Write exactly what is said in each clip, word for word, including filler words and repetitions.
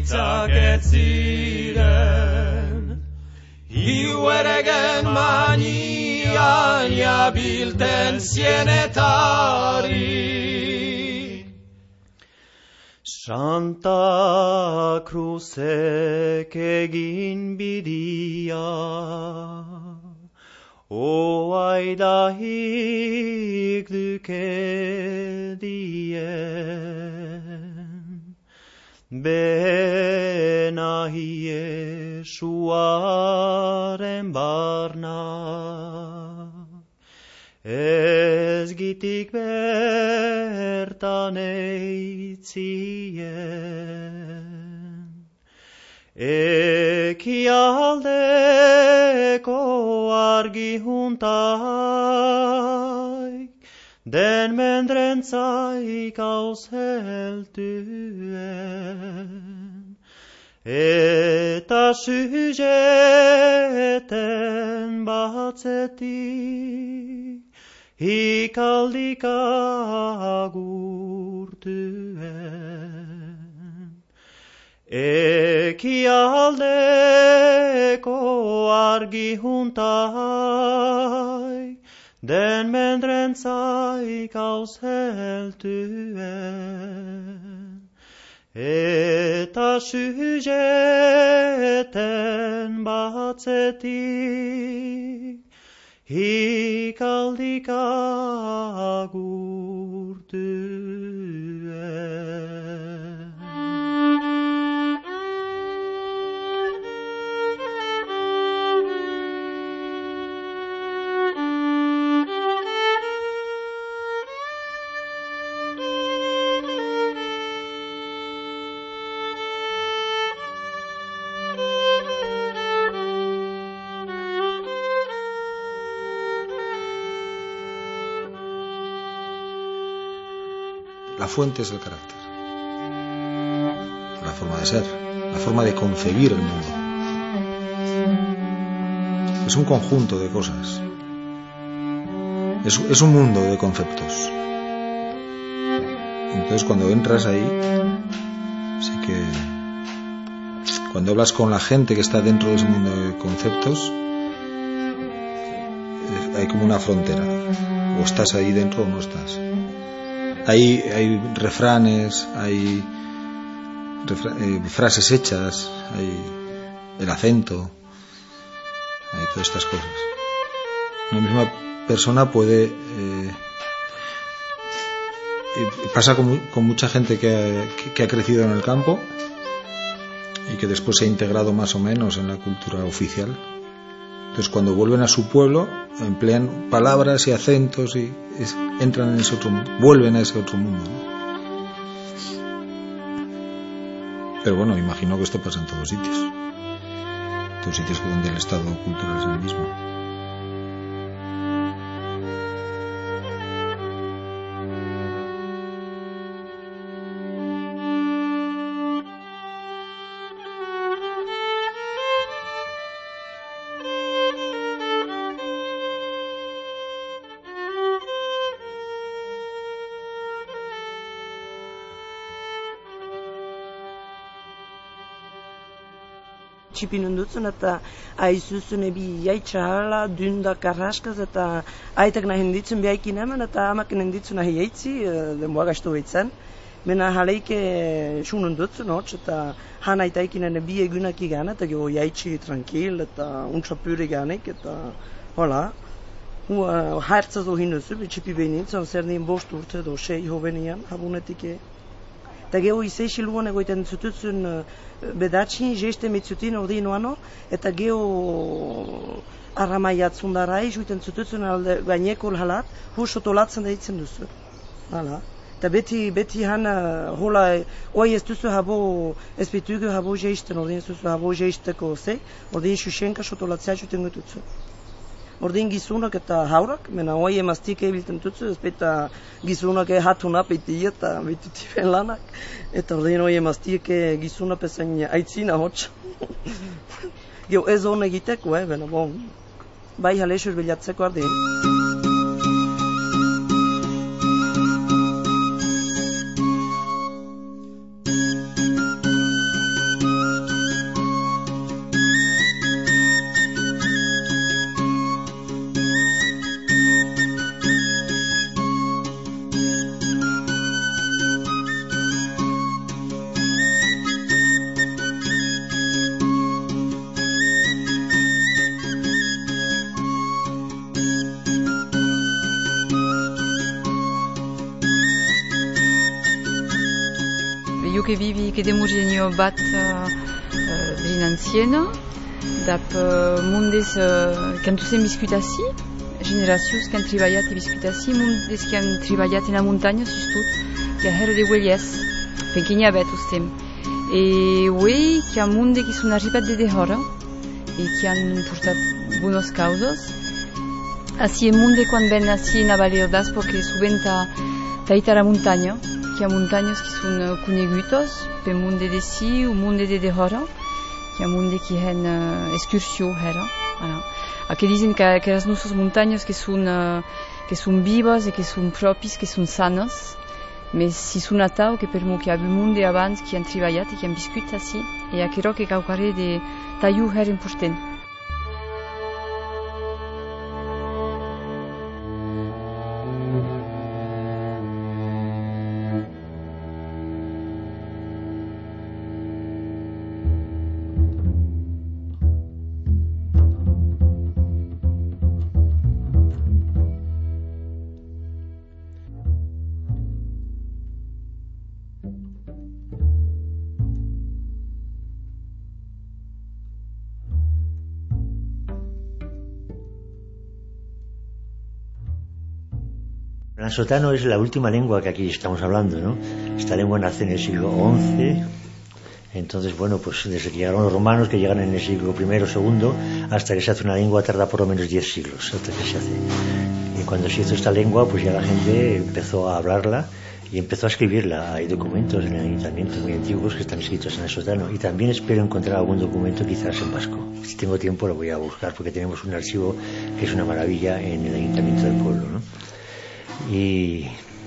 hitzak ez ziren, hiu eregen manian jabilten zienetarik. Santa Cruzek egin bidia, oaidahik duke dien, benahi Jesuaren barna, ez gitik bertan eitzien, ekialdeko argi juntaik, den mendrentzaik ausheltuen, eta sujeten batzetik, hikaldik agurtuen. Ekialdeko argi juntaik, den mendrentzaik ausheltuen, eta sujeten batzetik, hikaldik agurtuen. La fuente es el carácter, la forma de ser, la forma de concebir el mundo. Es un conjunto de cosas, es, es un mundo de conceptos. Entonces cuando entras ahí, sí que cuando hablas con la gente que está dentro de ese mundo de conceptos, hay como una frontera, o estás ahí dentro o no estás. Hay, hay refranes, hay refra- eh, frases hechas, hay el acento, hay todas estas cosas. Una misma persona puede... Eh, pasa con, con mucha gente que ha, que, que ha crecido en el campo y que después se ha integrado más o menos en la cultura oficial. Entonces cuando vuelven a su pueblo emplean palabras y acentos y es, entran en ese otro mundo, vuelven a ese otro mundo, ¿no? Pero bueno, imagino que esto pasa en todos sitios, en todos sitios donde el estado cultural es el mismo. Txipinen dutzen eta aizuzun ebi jaitxahala, dunda karraskaz eta aitak nahi henditzen behaikin hemen eta amaken henditzen nahi jaitzi, denboa gaiztu behitzen. Mena jaleike sunen dutzen hotz eta han aitaikinen ebi egunak igan eta geho jaitzi tranquil eta untsa pure ganek eta hola. Hartza zo hinuzu, txipi behinintzen, zer nien bost urte edo sei hobenian, habunetik e. Eta geho izeixi luan egoiten zututzen bedatxin, jeste mitzutin ordi noano, eta geho arramaiatzun darai, juiten zututzen alde gaineko halat, hus otolatzen da ditzen duzu. Hala. Eta beti, beti han hola, oi ez duzu habo, ez bitugu habo jeisten, ordin ez duzu habo jeisteko ze, ordin xuxenka otolatzea juten gututzu. Ordin gizunak eta haurak, mena oi emaztik ebilten tutzu, ez beta gizunak hatuna peti eta bitutifen lanak, eta ordin oi emaztik gizunak pezain aitzina hotx. Geo ez hon egiteko, eh, bena bon, bai halesur bilatzeko ardin. musik edemurgenio bat uh, uh, brin antziena, dap uh, mundez uh, kantuzen biskutazi, generazioz kan tribaiat e biskutazi, mundez kan tribaiat en la montagne, sustut, ki a her de weliez, penkenia bet ustem. E oui, ki a munde ki sun arribat de dehora, e ki han purtat buenos causos. Así en munde quan ben así na valerdas, porque suben ta taita la montaña, ki a montaños ki sun conegutos, pe munde de si ou munde de dehora, ki a munde ki hen uh, excursio hera. Voilà. A que dicen que, que las nuestras montañas que son, uh, que son vivas e que son propis, que son sanas, mais si sun atau que per mo que abu munde abans qui han treballat e qui han viscut así, e a quero que caucare de taiu her important. El ansotano es la última lengua que aquí estamos hablando, ¿no? Esta lengua nace en el siglo once, entonces, bueno, pues desde que llegaron los romanos, que llegan en el siglo primero o segundo, hasta que se hace una lengua tarda por lo menos diez siglos, hasta que se hace. Y cuando se hizo esta lengua, pues ya la gente empezó a hablarla y empezó a escribirla. Hay documentos en el ayuntamiento muy antiguos que están escritos en ansotano, y también espero encontrar algún documento quizás en vasco. Si tengo tiempo lo voy a buscar, porque tenemos un archivo que es una maravilla en el ayuntamiento del pueblo, ¿no? Y,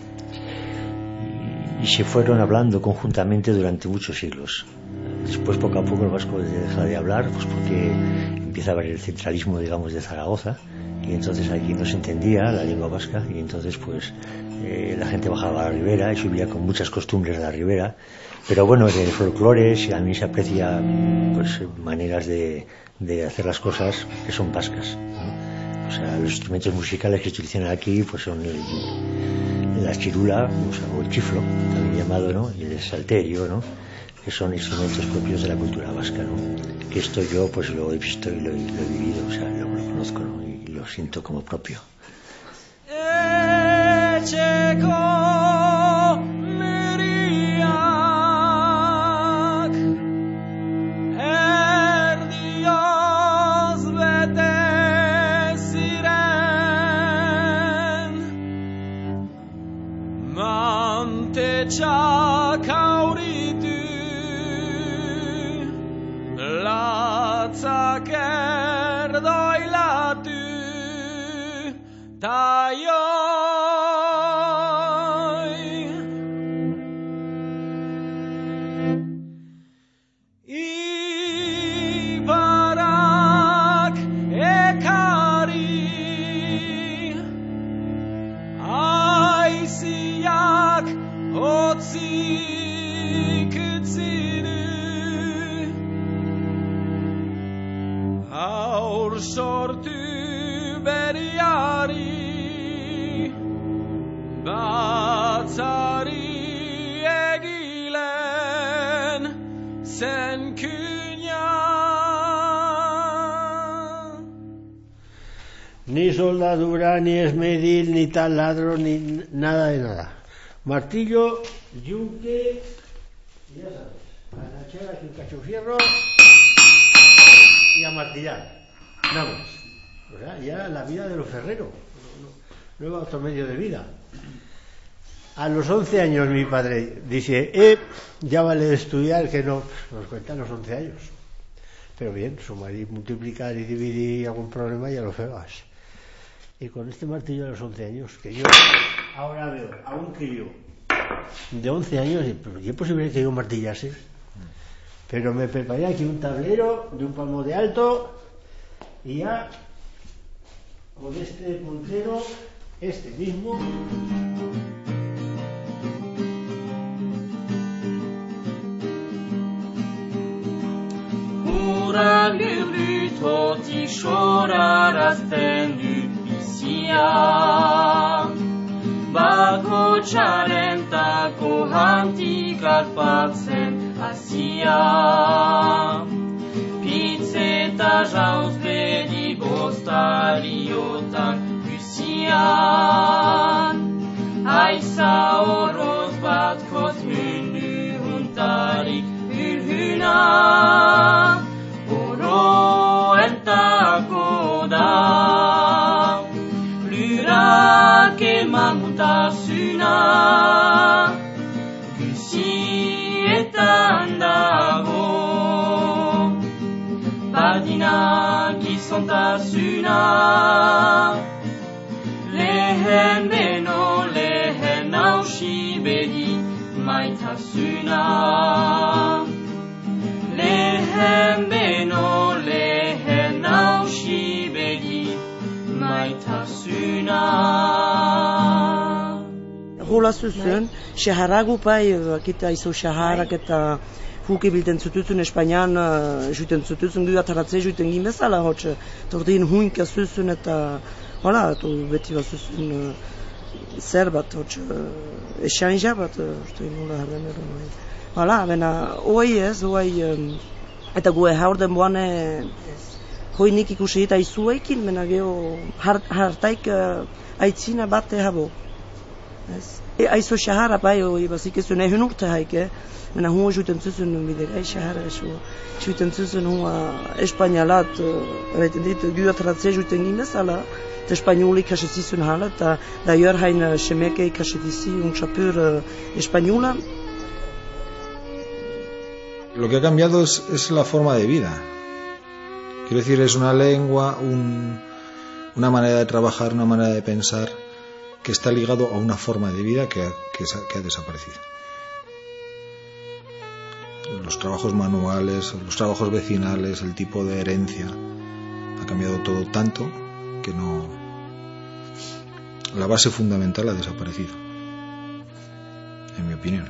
y se fueron hablando conjuntamente durante muchos siglos. Después, poco a poco, el vasco deja de hablar, pues porque empieza a haber el centralismo, digamos, de Zaragoza, y entonces aquí no se entendía la lengua vasca, y entonces pues eh, la gente bajaba a la ribera y subía con muchas costumbres de la ribera. Pero bueno, en el folclore a mí se aprecia pues maneras de, de hacer las cosas que son vascas, ¿no? O sea, los instrumentos musicales que se utilizan aquí pues son el, la chirula, o, sea, o el chiflo, también llamado, ¿no? Y el salterio, ¿no? Que son instrumentos propios de la cultura vasca, ¿no? Que esto yo pues lo he visto y lo, lo he vivido, o sea, lo, lo conozco, ¿no? Y lo siento como propio. Txak auritu latzak erdoilatu ta joi ibarak ekari aiziak otzik utzinu aur sortu beriari batzari egilen zen kuña. Ni soldadura, ni esmeril, ni taladro, ni nada de nada. Martillo, yunque, ya sabes, a echar aquí un cacho fierro y a martillar, nada más. O sea, ya la vida de los ferreros, no, no, no otro medio de vida. A los once años mi padre dice, eh, ya vale de estudiar, que no, nos cuentan los once años. Pero bien, sumar y multiplicar y dividir algún problema ya lo fregas. Y con este martillo a los once años, que yo ahora veo a un crío de once años, pero ¿qué es posible que yo martillase? Pero me preparé aquí un tablero de un palmo de alto y ya con este puntero, este mismo, Ura gebrütotik sorarazten dut bizia, bako txarentako hantik arpatzen guzia. Pitzeta jauz bedi bostariotan guzian. Aiza horoz bat koz mundu huntarik ülhuna. Oro entako da. Lurak eman mutasuna. Guzietan dago. Badinak izontasuna. Lehen beno lehen hausi bedi maitasuna. Lehen beno lehen hausi bedi maitasuna. Hola zuzuen, xaharagu pai, kita izo xaharak eta huke bilten zutuzun Espainian, juten zutuzun gu ataratze juten gimezala hotxe, tordin huinka zuzun eta, hola, to beti bat zuzun zer bat hotxe, esanja bat, orte nula herden eron, hola, bena, oai ez, oai, eta gu haur den boane, hoi nik ikusi eta izuekin, bena geho hartaik aitzina bat ehabo. Aizo xahara bai, bazik ezun ehun urte haike, mena hua juten zuzun bidek, ai xahara eso, juten zuzun hua espainalat, eraiten dit, gu ataratze juten gimezala, eta espainoli kasetizun hala, eta daior hain semeke kasetizi un chapur espainola. Lo que ha cambiado es, es la forma de vida. Quiero decir, es una lengua, un, una manera de trabajar, una manera de pensar, que está ligado a una forma de vida que ha, que, que ha desaparecido. Los trabajos manuales, los trabajos vecinales, el tipo de herencia, ha cambiado todo tanto que no... La base fundamental ha desaparecido, en mi opinión.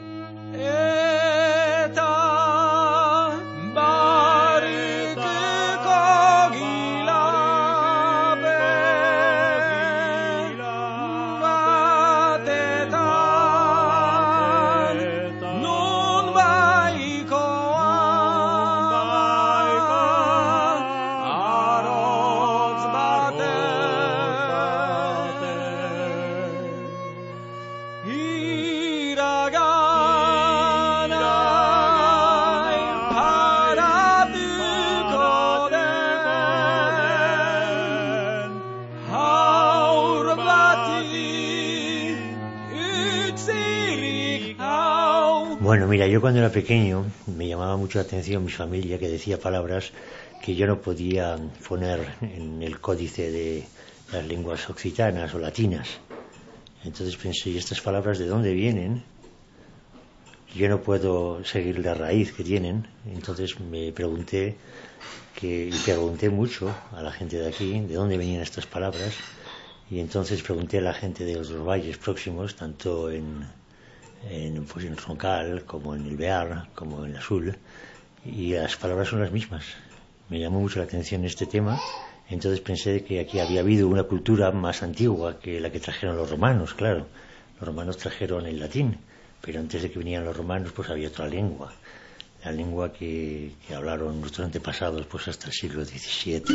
Bueno, mira, yo cuando era pequeño me llamaba mucho la atención mi familia, que decía palabras que yo no podía poner en el códice de las lenguas occitanas o latinas. Entonces pensé, ¿y estas palabras de dónde vienen? Yo no puedo seguir la raíz que tienen. Entonces me pregunté, que, y pregunté mucho a la gente de aquí, de dónde venían estas palabras. Y entonces pregunté a la gente de los valles próximos, tanto en... En, pues en Roncal, como en el Bear, como en el Azul, y las palabras son las mismas. Me llamó mucho la atención este tema, entonces pensé que aquí había habido una cultura más antigua que la que trajeron los romanos, claro. Los romanos trajeron el latín, pero antes de que vinieran los romanos pues había otra lengua, la lengua que, que hablaron nuestros antepasados pues hasta el siglo diecisiete.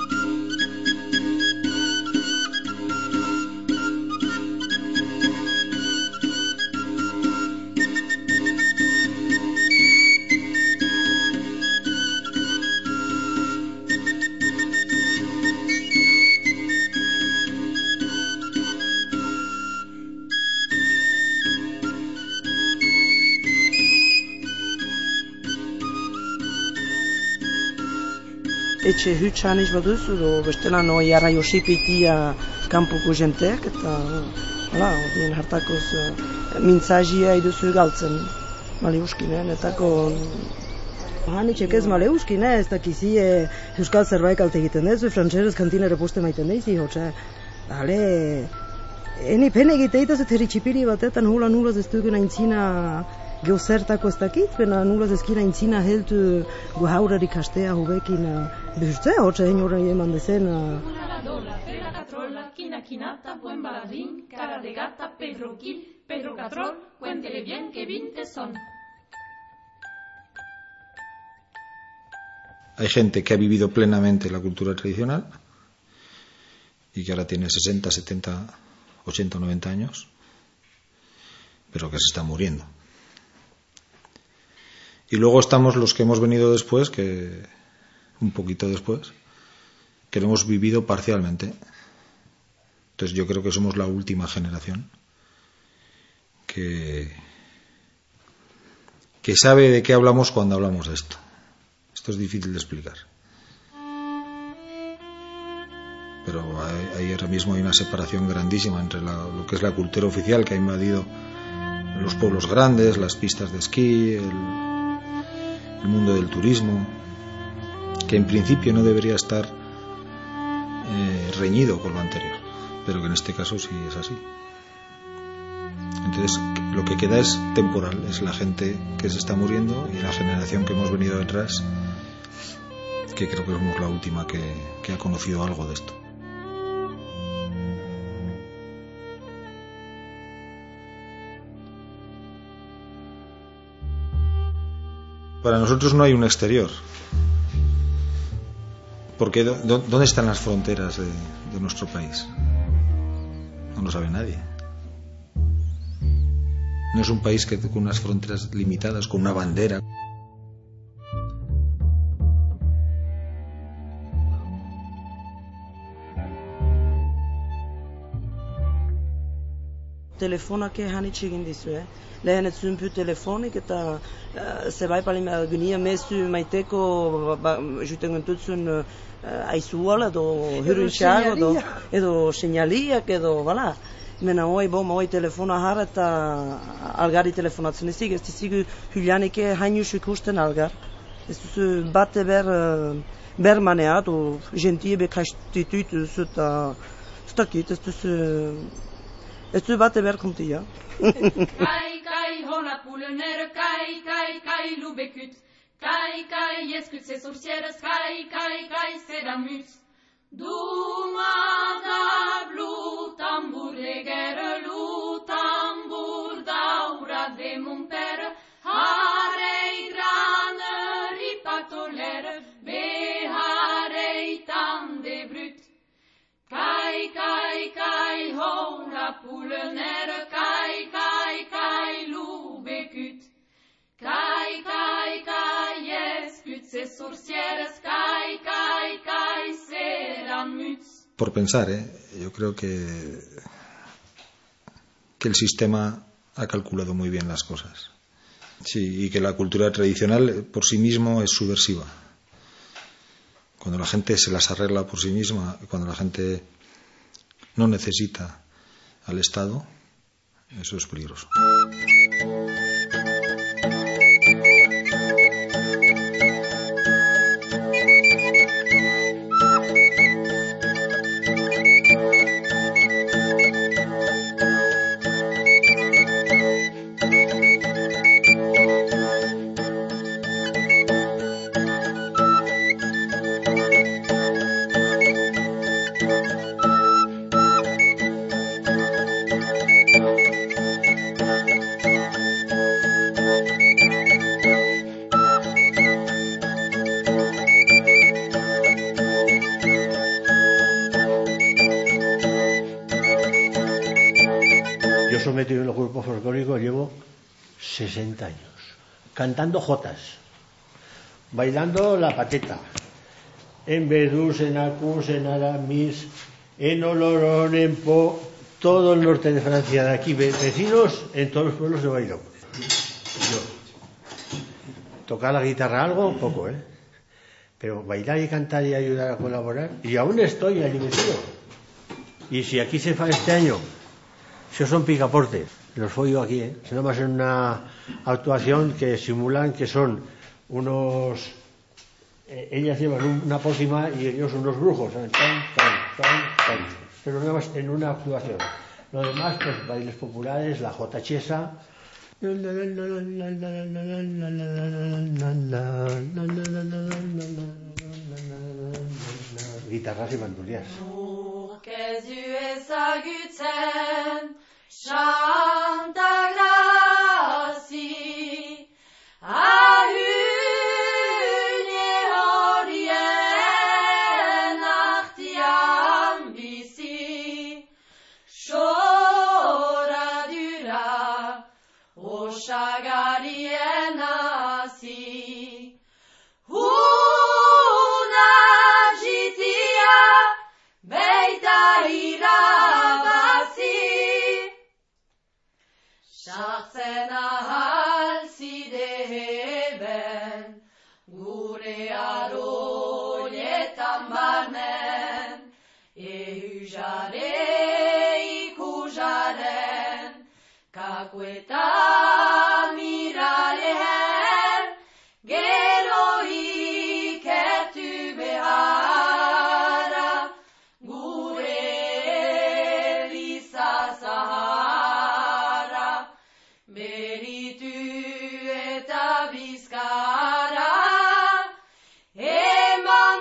Etxe hutsan iz baduzu, edo bestela no jarra josipitia kanpoko jenteak, eta hala, odien hartakoz mintzazia iduzu galtzen maleuskinen, etako hanitxek ez maleuskine, ez dakizi euskal zerbait kalte egiten ez, frantxerez kantinere poste maiten deizi, hotxe, hale, eni pene egiteitaz eta herritxipiri batetan hula nulaz ez dugun aintzina geozertako ez dakit, bena nulaz ezkina aintzina heltu guhaurari kastea hobekin behurtzea, hotxe egin horren eman dezen. La dola, pera catrola, quina quinata, buen baladín, cara de gata, Pedro Gil, Pedro Catrol, cuéntele bien que vinte son. Hay gente que ha vivido plenamente la cultura tradicional y que ahora tiene sesenta, setenta, ochenta, noventa años, pero que se está muriendo. Y luego estamos los que hemos venido después, que un poquito después, que lo hemos vivido parcialmente. Entonces yo creo que somos la última generación que, que sabe de qué hablamos cuando hablamos de esto. Esto es difícil de explicar. Pero hay, hay ahora mismo hay una separación grandísima entre la, lo que es la cultura oficial que ha invadido los pueblos grandes, las pistas de esquí, el, el mundo del turismo, que en principio no debería estar eh, reñido con lo anterior, pero que en este caso sí es así. Entonces lo que queda es temporal, es la gente que se está muriendo y la generación que hemos venido detrás, que creo que somos la última que, que ha conocido algo de esto. Para nosotros no hay un exterior, porque ¿dónde están las fronteras de, de nuestro país? No lo sabe nadie. No es un país que con unas fronteras limitadas, con una bandera. Telefonak hanitxe egin dizu, eh? Lehen ez zuen pu telefonik eta uh, zebai palin gunia mezu maiteko ba, juten gentutzun uh, aizuala edo hurruntxago edo, edo señaliak edo, bala. Mena hoi boma hoi telefona har eta algari telefonatzen ezik, ez dizigu hyljanike hainus ikusten algar. Ez duzu bate ber, uh, ber maneat, o gentie bekastituit duzu eta ez dakit, ez duzu... Ez du bate behar kontia. Kai, kai, hola poulenère, kai, kai, kai, loubécut. Kai, kai, escut ses sorcières, kai, kai, kai, c'est la muse. Dumada, blou, tambour, les guerres, lou, tambour, daura de mon père. Harei, grane, ripatolère, beharei, tan de brut. Kai, kai, kai, ho, la poulenère, kai, kai, kai, loubécut. Kai, kai, kai, escut ses sorcières, kai, kai, kai, c'est la mutz. Por pensar, ¿eh? Yo creo que, que el sistema ha calculado muy bien las cosas. Sí, y que la cultura tradicional por sí mismo es subversiva. Cuando la gente se las arregla por sí misma, cuando la gente no necesita al Estado, eso es peligroso. Metido en los grupos folclóricos llevo sesenta años, cantando jotas, bailando la pateta, en Verdús, en Acús, en Aramis, en Olorón, en Po, todo el norte de Francia, de aquí, vecinos, en todos los pueblos de bailo. Yo. Tocar la guitarra algo, poco, ¿eh? Pero bailar y cantar y ayudar a colaborar, y aún estoy allí metido. Y si aquí se fa este año, si son picaportes, los follo aquí, ¿eh? Se nomás en una actuación que simulan que son unos... Eh, ellas llevan un, una pócima y ellos unos brujos, ¿sabes? Tan, tan, tan, tan. Pero nada más en una actuación. Lo demás, pues bailes populares, la jota chesa... guitarras y bandurrias. Chanta graci a une gure aroietan barnen, ehujare ikujaren, kakueta miraren, gero ikertu beharra, gure eliza zaharra, beritu eta bizkara, eman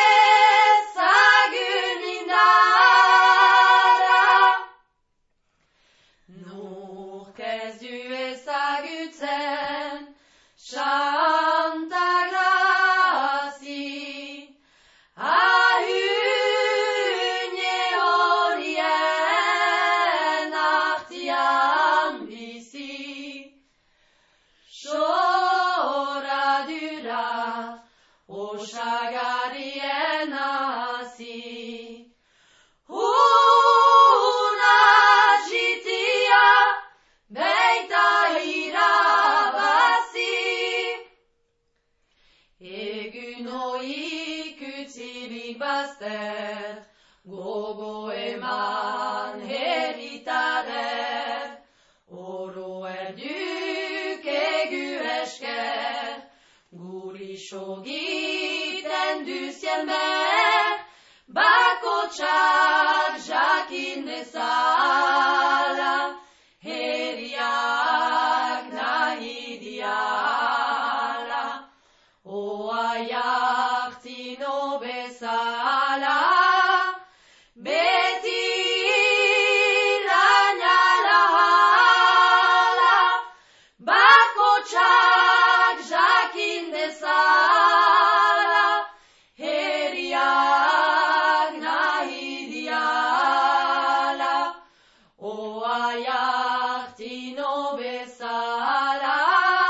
dezagun indarra. Nork ez du ezagutzen, Santa Grazi, ahune horien artian bizi, soradura osagarrien hasi. Una txitia beita irabazi, egun hoik utzirik bazter, gogo eman heritarer, oro erduk egu esker, guri sogiten duzien ber, bakotxak jakin dezala, heriak nahi diala, oa jartzino bezala, beti irainala hala, bakotxak jakin dezala, heriak nahi diala, oa jartzino bezala,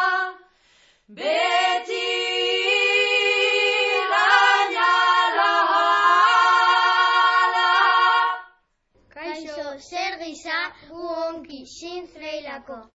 beti irainala hala. Kaixo, zer gisa gu onki sin freilako.